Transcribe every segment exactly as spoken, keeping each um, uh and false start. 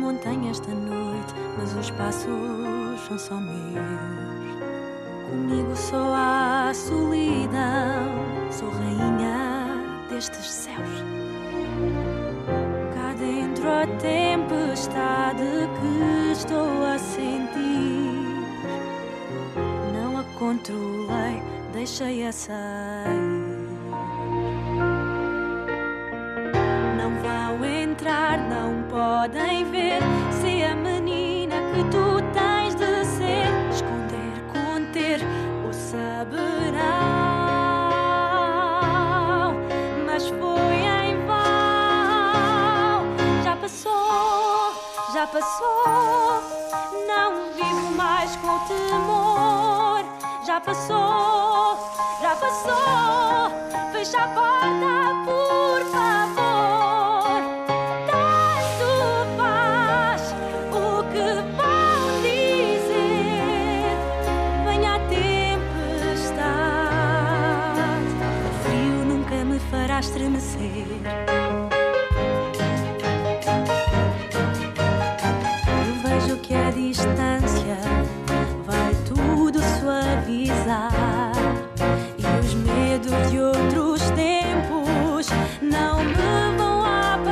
montanha esta noite, mas os passos são só meus. Comigo só há solidão, sou rainha destes céus. Cá dentro a tempestade que estou a sentir, não a controlei, deixei-a sair. Não vão entrar, não podem ver, se a menina que tu tens de ser. Esconder, conter ou saberão, mas foi em vão. Já passou, já passou, não vivo mais com temor. Já passou, já passou, fecha a porta, por favor. Tanto faz o que vão dizer, venha a tempestade, o frio nunca me fará estremecer. Eu vejo que a distância vai tudo suavizar, e os medos de outros tempos não me vão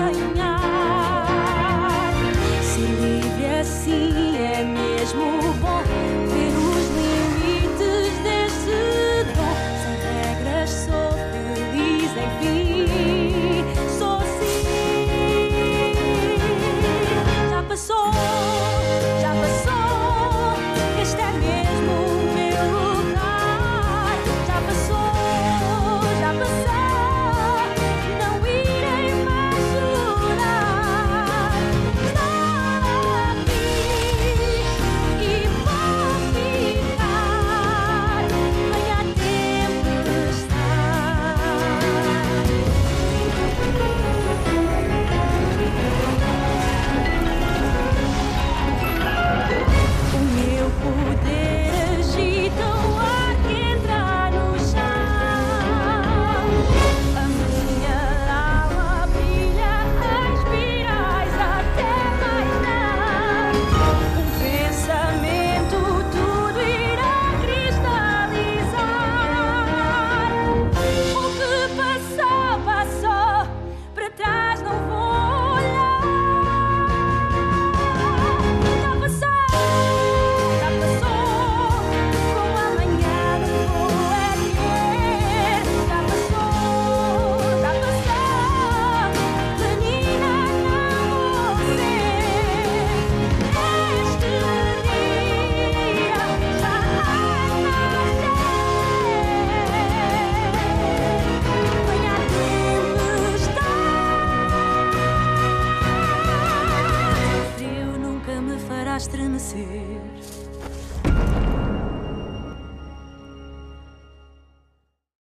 apanhar. Ser livre assim é mesmo bom, ver os limites desse dom. Sem regras sou feliz, enfim, sou sim. Já passou, já passou, este é mesmo o meu lugar. Já passou, já passou, não irei mais chorar. Estou aqui e vou ficar, venha a tempestade. O meu poder agita o ar que entra no chão. A minha alma brilha, respirais até mais não. Um pensamento tudo irá cristalizar. O que passou, passou, para trás não vou olhar. Já passou, já passou, com amanhã não vou é ter. Já passou, já passou, menina não vou ser. Este dia já nasceu. Venha a tempestade, o frio nunca me fará estremecer.